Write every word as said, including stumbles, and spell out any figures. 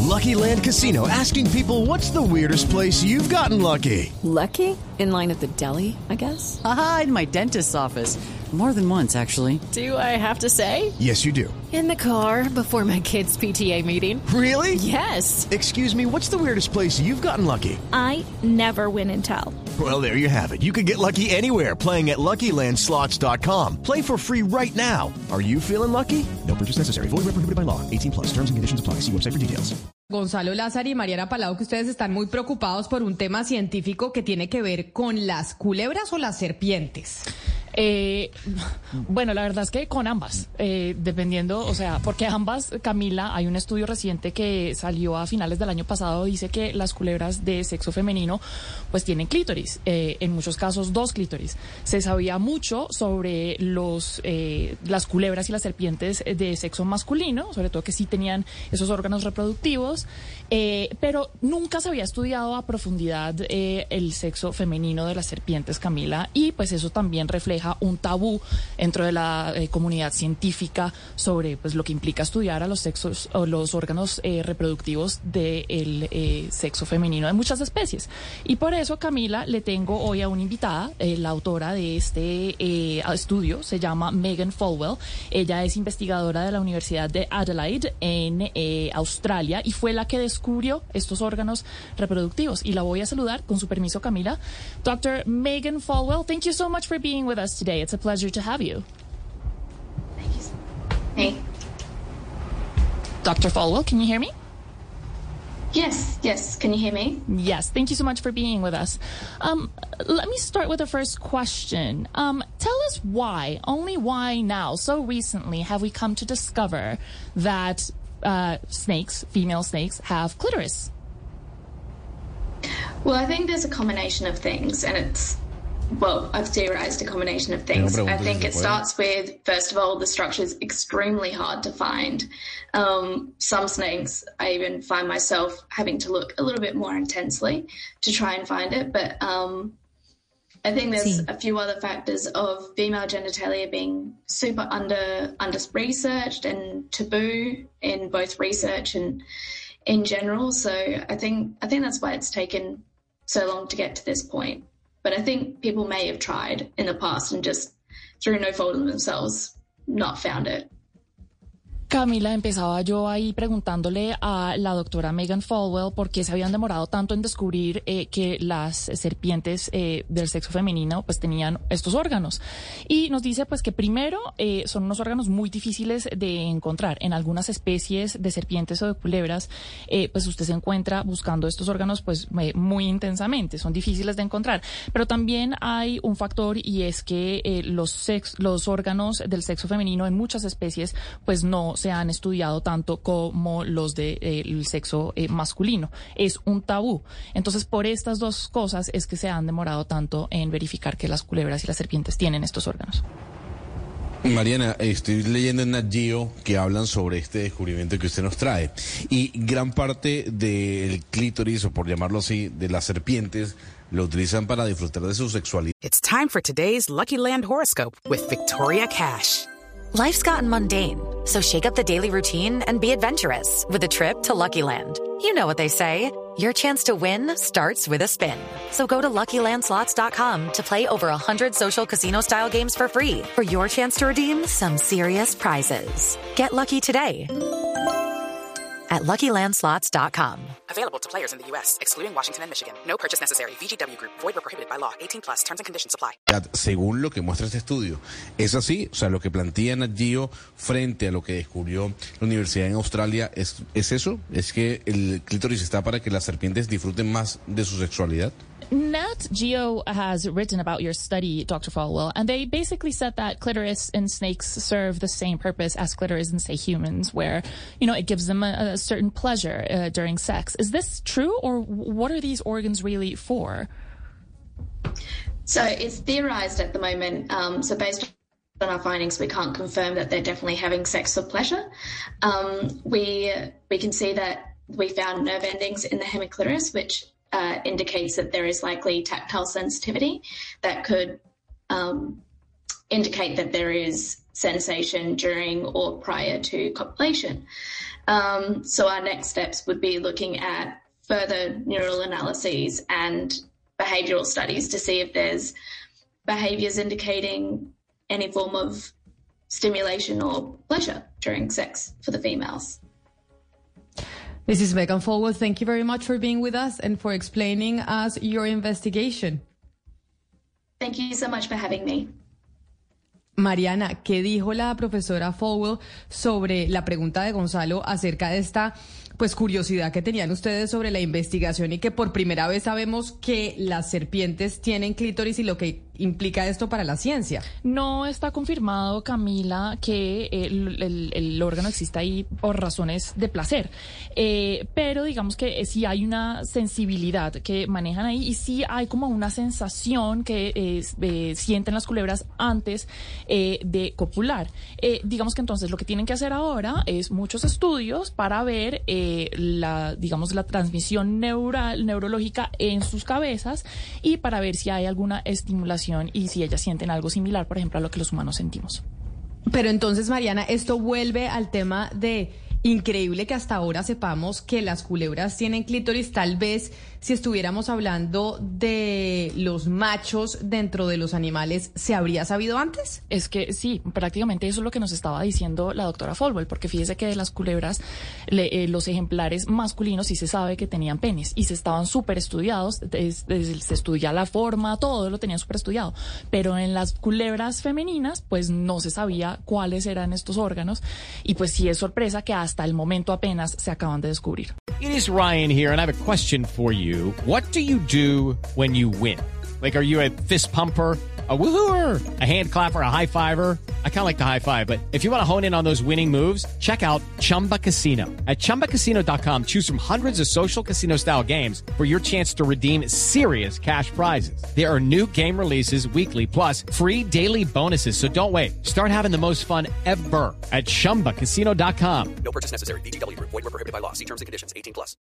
Lucky Land Casino, asking people, what's the weirdest place you've gotten lucky? Lucky? In line at the deli, I guess? Aha, in my dentist's office. More than once, actually. Do I have to say? Yes, you do. In the car before my kids' P T A meeting. Really? Yes. Excuse me, what's the weirdest place you've gotten lucky? I never win and tell. Well, there you have it. You can get lucky anywhere, playing at Lucky Land Slots dot com. Play for free right now. Are you feeling lucky? No purchase necessary. Void where prohibited by law. eighteen plus. Terms and conditions apply. See website for details. Gonzalo Lázaro y Mariana Palau, que ustedes están muy preocupados por un tema científico que tiene que ver con las culebras o las serpientes. Eh, bueno, la verdad es que con ambas, eh, dependiendo, o sea, porque ambas, Camila, hay un estudio reciente que salió a finales del año pasado, dice que las culebras de sexo femenino pues tienen clítoris, eh, en muchos casos dos clítoris. Se sabía mucho sobre los eh, las culebras y las serpientes de sexo masculino, sobre todo que sí tenían esos órganos reproductivos, eh, pero nunca se había estudiado a profundidad eh, el sexo femenino de las serpientes, Camila, y pues eso también refleja un tabú dentro de la eh, comunidad científica sobre pues lo que implica estudiar a los sexos o los órganos eh, reproductivos del eh, sexo femenino de muchas especies. Y por eso, Camila, le tengo hoy a una invitada, eh, la autora de este eh, estudio, se llama Megan Folwell. Ella es investigadora de la Universidad de Adelaide en eh, Australia y fue la que descubrió estos órganos reproductivos. Y la voy a saludar, con su permiso, Camila. doctor Megan Folwell, thank you so much for being with us today. It's a pleasure to have you. Thank you. Hey. doctor Folwell, can you hear me? Yes, yes. Can you hear me? Yes. Thank you so much for being with us. Um, let me start with the first question. Um, tell us why, only why now, so recently, have we come to discover that uh, snakes, female snakes, have clitoris? Well, I think there's a combination of things, and it's Well, I've theorized a combination of things. I think it starts with, first of all, the structure is extremely hard to find. Um, some snakes, I even find myself having to look a little bit more intensely to try and find it. But um, I think there's sí. a few other factors of female genitalia being super under under researched and taboo in both research and in general. So I think I think that's why it's taken so long to get to this point. But I think people may have tried in the past and just, through no fault of themselves, not found it. Camila, empezaba yo ahí preguntándole a la doctora Megan Folwell por qué se habían demorado tanto en descubrir eh, que las serpientes eh, del sexo femenino pues tenían estos órganos. Y nos dice pues que primero eh, son unos órganos muy difíciles de encontrar. En algunas especies de serpientes o de culebras eh, pues usted se encuentra buscando estos órganos pues eh, muy intensamente, son difíciles de encontrar. Pero también hay un factor y es que eh, los, sex, los órganos del sexo femenino en muchas especies pues no se han estudiado tanto como los del de, eh, sexo eh, masculino. Es un tabú. Entonces, por estas dos cosas es que se han demorado tanto en verificar que las culebras y las serpientes tienen estos órganos. Mariana, estoy leyendo en Nat Geo que hablan sobre este descubrimiento que usted nos trae. Y gran parte del clítoris, o por llamarlo así, de las serpientes, lo utilizan para disfrutar de su sexualidad. It's time for today's Lucky Land horoscope with Victoria Cash. Life's gotten mundane, so shake up the daily routine and be adventurous with a trip to Lucky Land. You know what they say, your chance to win starts with a spin. So go to Lucky Land Slots dot com to play over one hundred social casino-style games for free for your chance to redeem some serious prizes. Get lucky today at Lucky Land Slots dot com. Available to players in the U S, excluding Washington and Michigan. No purchase necessary. V G W Group. Void where prohibited by law. eighteen plus. Terms and conditions apply. Según lo que muestra este estudio, es así. O sea, lo que plantea Nat Geo frente a lo que descubrió la universidad en Australia es, es eso. Es que el clítoris está para que las serpientes disfruten más de su sexualidad. Nat Geo has written about your study, doctor Folwell, and they basically said that clitoris in snakes serve the same purpose as clitoris in, say, humans, where, you know, it gives them a, a certain pleasure uh, during sex. Is this true, or what are these organs really for? So it's theorized at the moment. Um, so based on our findings, we can't confirm that they're definitely having sex for pleasure. Um, we we can see that we found nerve endings in the hemiclitoris, which Uh, indicates that there is likely tactile sensitivity that could um, indicate that there is sensation during or prior to copulation. Um, so our next steps would be looking at further neural analyses and behavioral studies to see if there's behaviors indicating any form of stimulation or pleasure during sex for the females. This is Megan Folwell. Thank you very much for being with us and for explaining us your investigation. Thank you so much for having me. Mariana, ¿qué dijo la profesora Folwell sobre la pregunta de Gonzalo acerca de esta pues curiosidad que tenían ustedes sobre la investigación y que por primera vez sabemos que las serpientes tienen clítoris y lo que implica esto para la ciencia? No está confirmado, Camila, que el, el, el órgano exista ahí por razones de placer, eh, pero digamos que sí hay una sensibilidad que manejan ahí y sí hay como una sensación que eh, eh, sienten las culebras antes eh, de copular. Eh, digamos que entonces lo que tienen que hacer ahora es muchos estudios para ver eh, la, digamos, la transmisión neural, neurológica en sus cabezas y para ver si hay alguna estimulación y si ellas sienten algo similar, por ejemplo, a lo que los humanos sentimos. Pero entonces, Mariana, esto vuelve al tema de increíble que hasta ahora sepamos que las culebras tienen clítoris. Tal vez si estuviéramos hablando de los machos dentro de los animales, ¿se habría sabido antes? Es que sí, prácticamente eso es lo que nos estaba diciendo la doctora Folwell, porque fíjese que de las culebras, le, eh, los ejemplares masculinos sí se sabe que tenían penes y se estaban súper estudiados, es, es, se estudia la forma, todo lo tenían súper estudiado, pero en las culebras femeninas pues no se sabía cuáles eran estos órganos y pues sí es sorpresa que hasta el momento apenas se acaban de descubrir. It is Ryan here, and I have a question for you. What do you do when you win? Like, are you a fist pumper, a woohooer, a hand clapper, a high fiver? I kind of like the high five, but if you want to hone in on those winning moves, check out Chumba Casino. At chumba casino dot com, choose from hundreds of social casino-style games for your chance to redeem serious cash prizes. There are new game releases weekly, plus free daily bonuses, so don't wait. Start having the most fun ever at chumba casino dot com. No purchase necessary. V G W Group. Void where prohibited by law. See terms and conditions. eighteen plus.